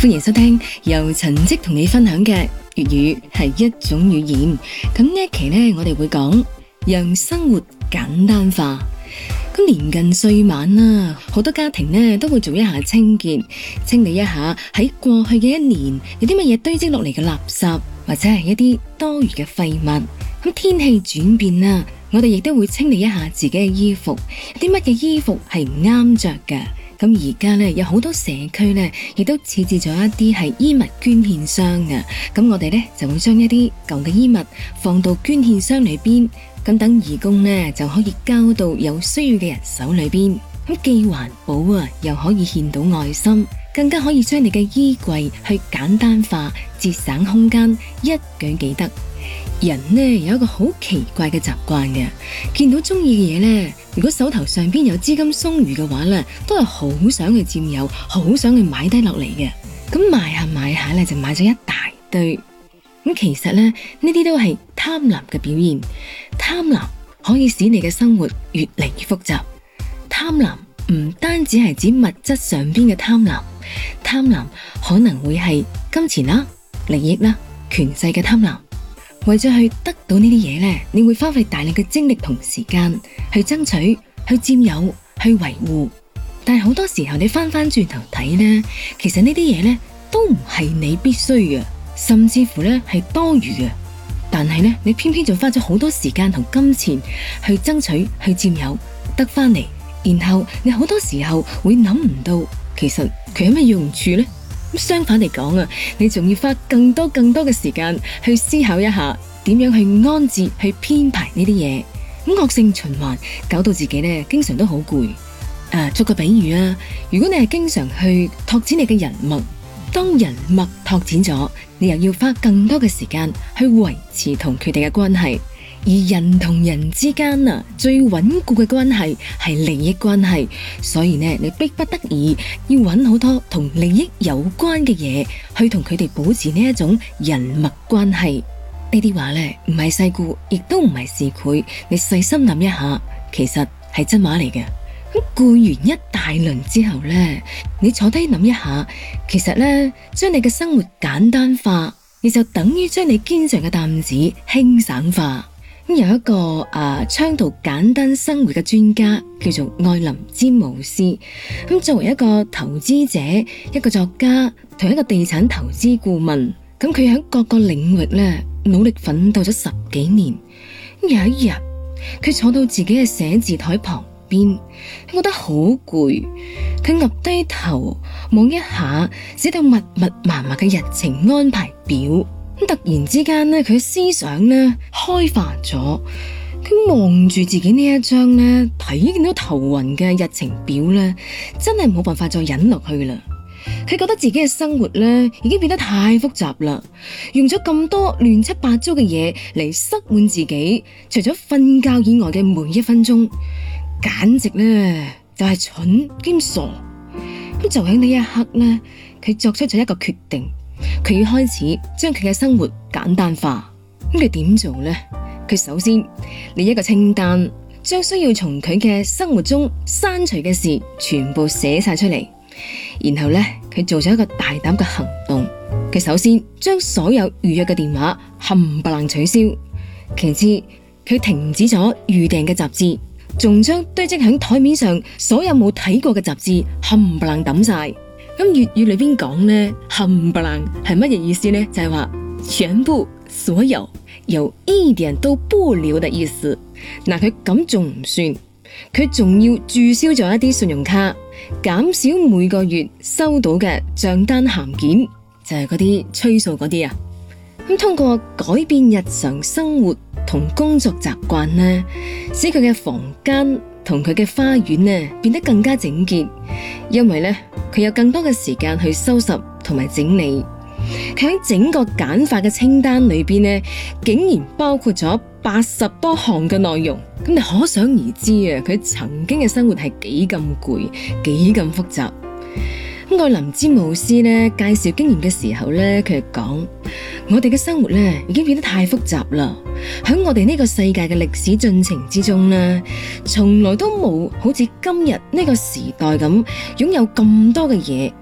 歡迎收聽由陳迹同你分享嘅粵語係一種語言。咁呢一期呢，我哋會講讓生活簡單化。咁年近歲晚啦，好多家庭呢都會做一下清潔，清理一下喺過去嘅一年有啲乜嘢堆積落嚟嘅垃圾，或者係一啲多餘嘅廢物。咁天氣轉變啦，我哋亦都會清理一下自己嘅衣服，有啲乜嘢衣服係唔啱着嘅。咁而家呢，有好多社區呢，亦都設置咗一啲係衣物捐獻箱嘅。咁我哋呢，就會將一啲舊嘅衣物放到捐獻箱裏邊，咁等義工呢，就可以交到有需要嘅人手裏邊。咁既環保啊，又可以獻到愛心，更加可以將你嘅衣櫃去簡單化，節省空間，一舉幾得。人呢，有一個好奇怪嘅習慣嘅，見到中意嘅嘢呢，如果手頭上邊有資金鬆裕嘅話呢，都係好想去佔有，好想去買低落嚟嘅。咁買下買下呢，就買咗一大堆。咁其實呢，呢啲都係貪婪嘅表現。貪婪可以使你嘅生活越嚟越複雜。貪婪唔單止係指物質上邊嘅貪婪，貪婪可能會係金錢啦、利益啦、權勢嘅貪婪。為咗去得到呢啲嘢呢，你會花費大量嘅精力同時間去爭取、去佔有、去維護。但係好多時候你翻轉頭睇呢，其實呢啲嘢呢都唔係你必須嘅，甚至乎呢係多餘嘅。但係呢，你偏偏就花咗好多時間同金錢去爭取、去佔有，得翻嚟，然後你好多時候會諗唔到，其實佢有咩用處呢？相反嚟講啊，你仲要花更多嘅時間去思考一下，點樣去安置、去編排呢啲嘢。咁惡性循環，搞到自己呢經常都好攰。作個比喻啊，如果你係經常去拓展你嘅人脈，當人脈拓展咗，你又要花更多嘅時間去維持同佢哋嘅關係。而人同人之間啊，最穩固嘅關係係利益關係，所以呢，你逼不得已要揾好多同利益有關嘅嘢去同佢哋保持呢一種人脈關係。呢啲話呢，唔係世故，亦都唔係市儈，你細心諗一下，其實係真話嚟嘅。咁顧完一大輪之後呢，你坐低諗一下，其實呢，將你嘅生活簡單化，你就等於將你肩上嘅擔子輕省化。有一個倡導簡單生活嘅專家叫做愛林詹姆斯。作為一個投資者、一個作家同一個地產投資顧問，佢喺各個領域呢努力奮鬥咗10幾年。有一日，佢坐到自己嘅寫字台旁邊，佢覺得好攰，佢岌低頭望一下寫到密麻麻嘅日程安排表。突然之間呢，佢思想呢開化咗，佢望住自己呢一張呢睇見到頭暈嘅日程表呢，真係冇辦法再忍落去啦。佢覺得自己嘅生活呢已經變得太複雜啦，用咗咁多亂七八糟嘅嘢嚟塞滿自己，除咗瞓覺以外嘅每一分鐘，簡直呢就係蠢兼傻。就喺呢一刻呢，佢作出咗一個決定。佢要開始將佢嘅生活簡單化。佢點做呢？佢首先列一個清單，將需要從佢嘅生活中刪除嘅事全部寫晒出嚟。然後呢，佢做咗一個大膽嘅行動。佢首先將所有預約嘅電話冚唪唥取消。其次，佢停止咗預訂嘅雜誌，仲將堆積喺台面上所有冇睇過嘅雜誌冚唪唥抌晒。咁粵語裏邊講呢，冚唪唥係乜嘢意思呢？就係話全部、所有，有一點都不留的意思。嗱，佢咁仲唔算，佢仲要註銷咗一啲信用卡，減少每個月收到嘅賬單函件，就係嗰啲催數嗰啲啊。咁通過改變日常生活同工作習慣呢，使佢嘅房間同佢嘅花園呢變得更加整潔，因為呢，佢有更多嘅時間去收拾同埋整理。佢喺整個簡化嘅清單裏邊呢，竟然包括咗80多項嘅內容。咁你可想而知啊，佢曾經嘅生活係幾咁攰，幾咁複雜。愛林詹姆斯呢介紹經驗嘅時候呢，佢係講：我哋嘅生活呢已經變得太複雜啦。喺我哋呢個世界嘅歷史進程之中呢，從來都冇好似今日呢個時代咁擁有咁多嘅嘢。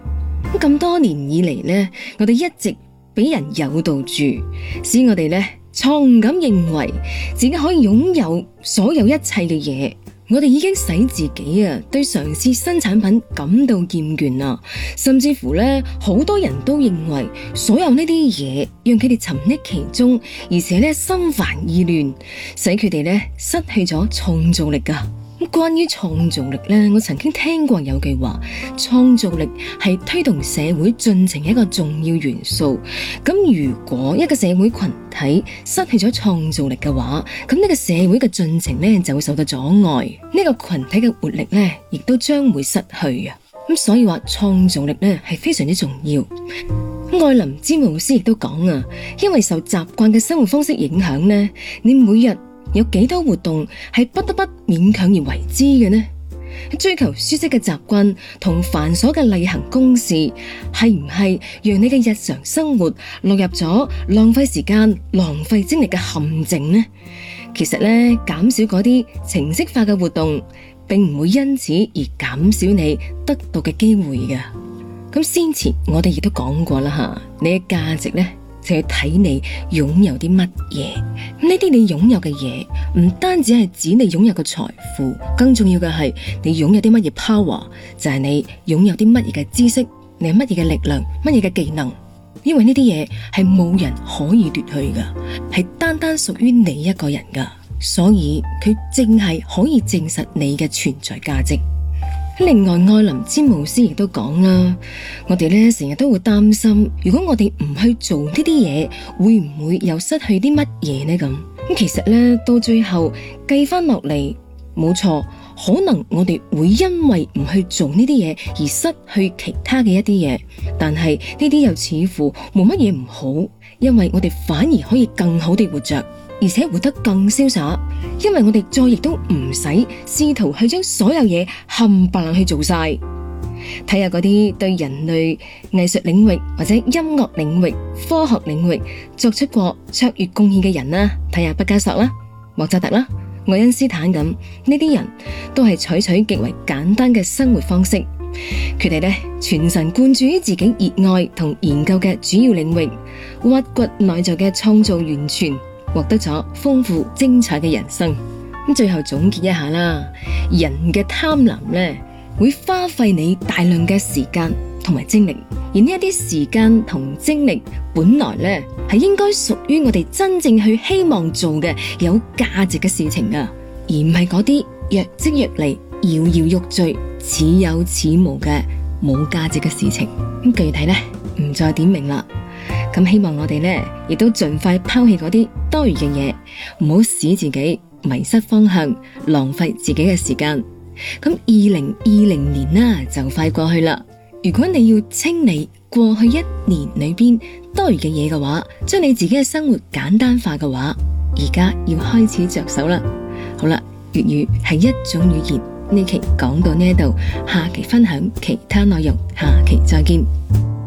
咁多年以嚟呢，我哋一直俾人誘導住，使我哋呢錯誤咁認為自己可以擁有所有一切嘅嘢。我哋已經使自己對嘗試新產品感到厭倦啦，甚至乎呢，好多人都認為所有呢啲嘢讓佢哋沉溺其中，而且呢，心煩意亂，使佢哋呢失去咗創造力㗎。關於創造力呢，我曾經聽過有句話，創造力係推動社會進程一個重要元素。咁如果一個社會群體失去咗創造力嘅話，咁呢個社會嘅進程呢就會受到阻礙，呢個群體嘅活力呢亦都將會失去啊。咁所以話創造力呢係非常之重要。愛林詹姆斯亦都講啊，因為受習慣嘅生活方式影響呢，你每日有幾多活動係不得不勉強而為之嘅呢？追求舒適嘅習慣同繁瑣嘅例行公事，係唔係讓你嘅日常生活落入咗浪費時間、浪費精力嘅陷阱呢？其實呢，減少嗰啲程式化嘅活動，並唔會因此而減少你得到嘅機會嘅。咁先前我哋亦都講過啦，你嘅價值呢，就要睇你擁有啲乜嘢。呢啲你擁有嘅嘢，唔單止係指你擁有嘅財富，更重要嘅係你擁有啲乜嘢 power，就係你擁有啲乜嘢嘅知識，你有乜嘢嘅力量，乜嘢嘅技能。因為呢啲嘢係冇人可以奪去噶，係單單屬於你一個人噶，所以佢正係可以證實你嘅存在價值。另外，愛林詹姆斯亦都講啦，我哋呢成日都會擔心，如果我哋唔去做呢啲嘢，會唔會又失去啲乜嘢呢？咁其實呢，到最後計翻落嚟，冇錯，可能我哋會因為唔去做呢啲嘢而失去其他嘅一啲嘢，但係呢啲又似乎冇乜嘢唔好，因為我哋反而可以更好地活着，而且活得更瀟灑，因為我哋再亦都唔使試圖去將所有嘢冚唪唥去做晒。睇下嗰啲對人類藝術領域或者音樂領域、科學領域作出過卓越貢獻嘅人啦，睇下畢加索啦、莫扎特啦、愛因斯坦咁，呢啲人都係採取極為簡單嘅生活方式，佢哋呢全神貫注於自己熱愛同研究嘅主要領域，挖掘內在嘅創造源泉，獲得咗豐富精彩嘅人生。最後總結一下啦，人嘅貪婪呢會花費你大量嘅時間同埋精力，而呢一啲時間同精力本來呢係應該屬於我哋真正去希望做嘅有價值嘅事情噶，而唔係嗰啲若即若離、搖搖欲墜、似有似無嘅冇價值嘅事情。具體呢唔再點明啦。希望我哋呢亦都盡快拋棄嗰啲多餘嘅嘢，唔好使自己迷失方向，浪費自己嘅時間。2020年就快過去啦，如果你要清理過去一年裏邊多餘嘅嘢嘅話，將你自己嘅生活簡單化嘅話，而家要開始着手啦。好啦，粵語係一種語言，呢期講到呢度，下期分享其他內容，下期再見。